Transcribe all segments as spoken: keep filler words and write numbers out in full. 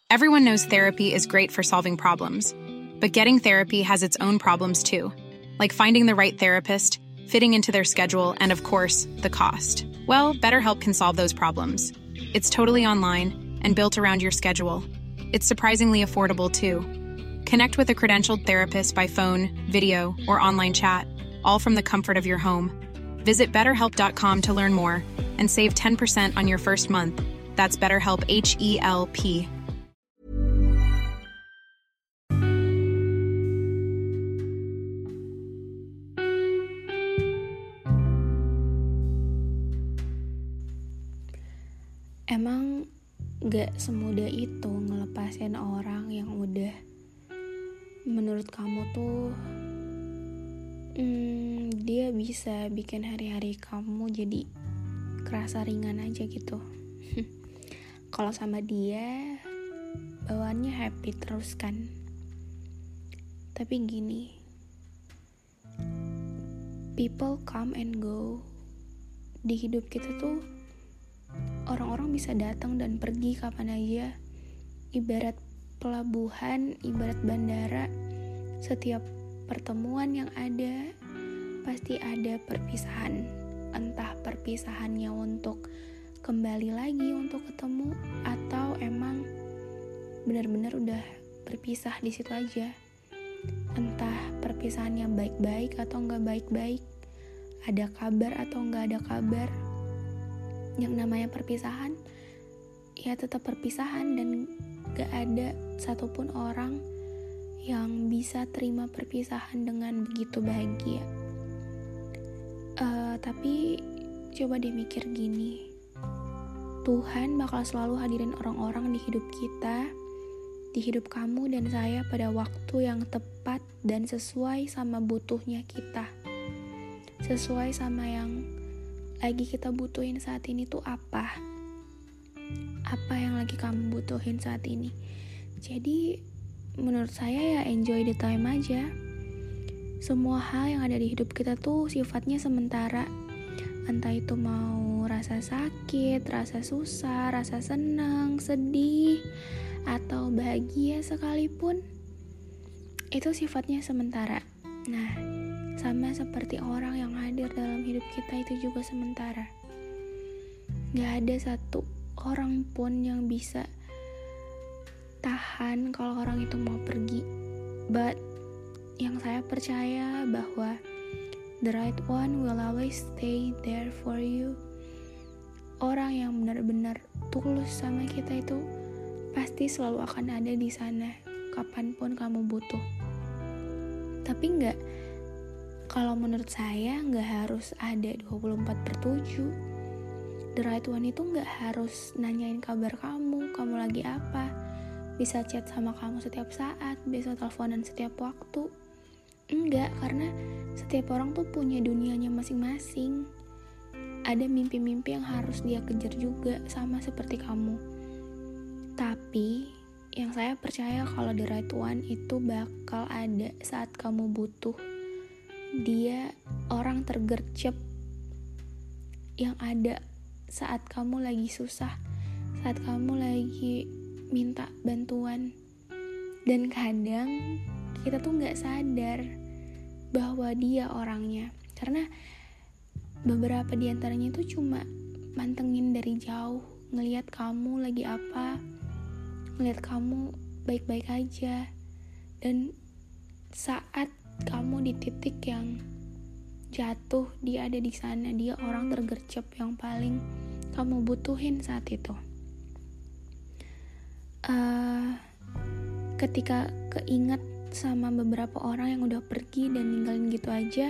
Everyone knows therapy is great for solving problems, but getting therapy has its own problems too, like finding the right therapist, fitting into their schedule, and of course, the cost. Well, BetterHelp can solve those problems. It's totally online and built around your schedule. It's surprisingly affordable too. Connect with a credentialed therapist by phone, video, or online chat, all from the comfort of your home. Visit better help dot com to learn more and save ten percent on your first month. That's BetterHelp, H E L P. Emang gak semudah itu ngelepasin orang yang udah menurut kamu tuh hmm, dia bisa bikin hari-hari kamu jadi kerasa ringan aja gitu. Kalau sama dia bawaannya happy terus kan. Tapi gini, people come and go. Di hidup kita tuh orang-orang bisa datang dan pergi kapan aja. Ibarat pelabuhan, ibarat bandara. Setiap pertemuan yang ada pasti ada perpisahan. Entah perpisahannya untuk kembali lagi untuk ketemu, atau emang benar-benar udah berpisah di situ aja. Entah perpisahannya baik-baik atau nggak baik-baik, ada kabar atau nggak ada kabar. Yang namanya perpisahan ya tetap perpisahan, dan gak ada satupun orang yang bisa terima perpisahan dengan begitu bahagia. Uh, tapi coba deh mikir gini, Tuhan bakal selalu hadirin orang-orang di hidup kita, di hidup kamu dan saya pada waktu yang tepat dan sesuai sama butuhnya kita, sesuai sama yang lagi kita butuhin saat ini tuh apa apa yang lagi kamu butuhin saat ini. Jadi menurut saya ya enjoy the time aja. Semua hal yang ada di hidup kita tuh sifatnya sementara, entah itu mau rasa sakit, rasa susah, rasa senang, sedih, atau bahagia sekalipun, itu sifatnya sementara. Nah, sama seperti orang yang hadir dalam hidup kita itu juga sementara. Gak ada satu orang pun yang bisa tahan kalau orang itu mau pergi. But yang saya percaya bahwa the right one will always stay there for you. Orang yang benar-benar tulus sama kita itu pasti selalu akan ada di sana kapanpun kamu butuh. Tapi gak, kalau menurut saya nggak harus ada dua puluh empat per tujuh. The right one itu nggak harus nanyain kabar kamu, kamu lagi apa. Bisa chat sama kamu setiap saat, bisa teleponan setiap waktu. Enggak, karena setiap orang tuh punya dunianya masing-masing. Ada mimpi-mimpi yang harus dia kejar juga, sama seperti kamu. Tapi yang saya percaya kalau the right one itu bakal ada saat kamu butuh. Dia orang tergercep yang ada saat kamu lagi susah, saat kamu lagi minta bantuan. Dan kadang kita tuh gak sadar bahwa dia orangnya, karena beberapa diantaranya itu cuma mantengin dari jauh, ngelihat kamu lagi apa, ngelihat kamu baik-baik aja. Dan saat kamu di titik yang jatuh, dia ada di sana. Dia orang tergercep yang paling kamu butuhin saat itu. Uh, ketika keinget sama beberapa orang yang udah pergi dan ninggalin gitu aja,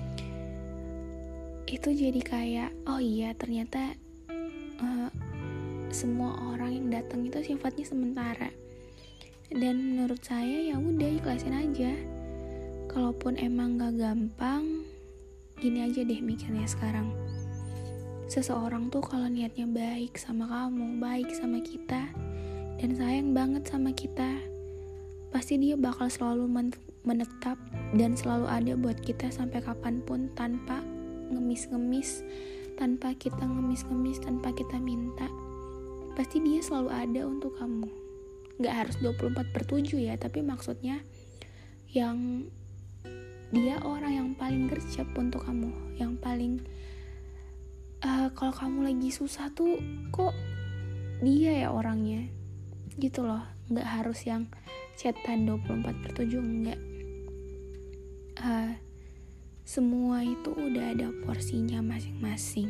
itu jadi kayak, oh iya ternyata uh, semua orang yang datang itu sifatnya sementara. Dan menurut saya ya udah ikhlasin aja. Kalaupun emang gak gampang, gini aja deh mikirnya sekarang. Seseorang tuh kalau niatnya baik sama kamu, baik sama kita, dan sayang banget sama kita, pasti dia bakal selalu men- menetap dan selalu ada buat kita sampai kapanpun, tanpa ngemis-ngemis, tanpa kita ngemis-ngemis, tanpa kita minta. Pasti dia selalu ada untuk kamu. Nggak harus dua puluh empat per tujuh ya, tapi maksudnya yang dia orang yang paling gercep untuk kamu, yang paling uh, kalau kamu lagi susah tuh kok dia ya orangnya gitu loh. Nggak harus yang chatan dua puluh empat per tujuh, enggak. uh, semua itu udah ada porsinya masing-masing.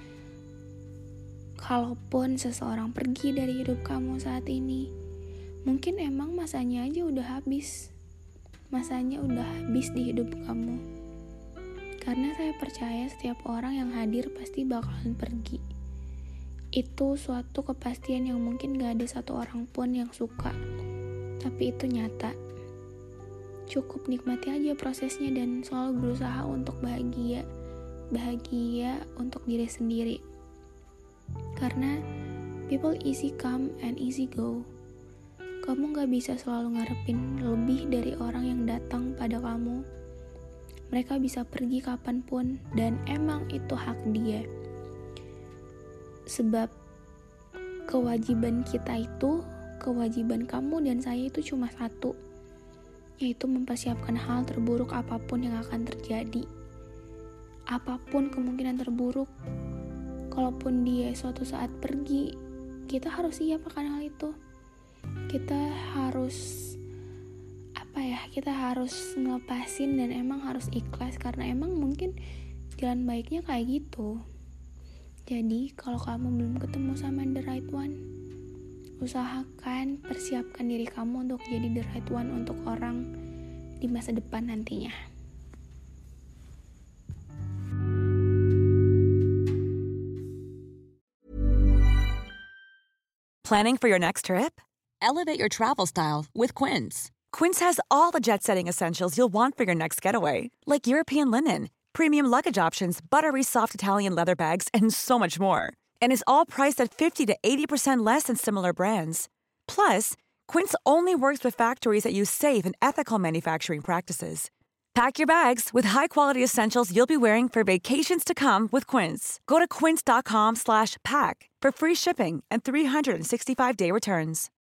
Kalaupun seseorang pergi dari hidup kamu saat ini, mungkin emang masanya aja udah habis. Masanya udah habis di hidup kamu. Karena saya percaya setiap orang yang hadir pasti bakalan pergi. Itu suatu kepastian yang mungkin gak ada satu orang pun yang suka. Tapi itu nyata. Cukup nikmati aja prosesnya dan selalu berusaha untuk bahagia. Bahagia untuk diri sendiri. Karena people easy come and easy go. Kamu gak bisa selalu ngarepin lebih dari orang yang datang pada kamu. Mereka bisa pergi kapanpun dan emang itu hak dia. Sebab kewajiban kita itu, kewajiban kamu dan saya itu cuma satu, yaitu mempersiapkan hal terburuk apapun yang akan terjadi. Apapun kemungkinan terburuk, kalaupun dia suatu saat pergi, kita harus siap akan hal itu. Kita harus apa ya kita harus ngelepasin dan emang harus ikhlas, karena emang mungkin jalan baiknya kayak gitu. Jadi kalau kamu belum ketemu sama the right one, usahakan persiapkan diri kamu untuk jadi the right one untuk orang di masa depan nantinya. Planning for your next trip? Elevate your travel style with Quince. Quince has all the jet-setting essentials you'll want for your next getaway, like European linen, premium luggage options, buttery soft Italian leather bags, and so much more. And is all priced at fifty to eighty percent less than similar brands. Plus, Quince only works with factories that use safe and ethical manufacturing practices. Pack your bags with high-quality essentials you'll be wearing for vacations to come with Quince. Go to quince.com slash pack for free shipping and three sixty-five day returns.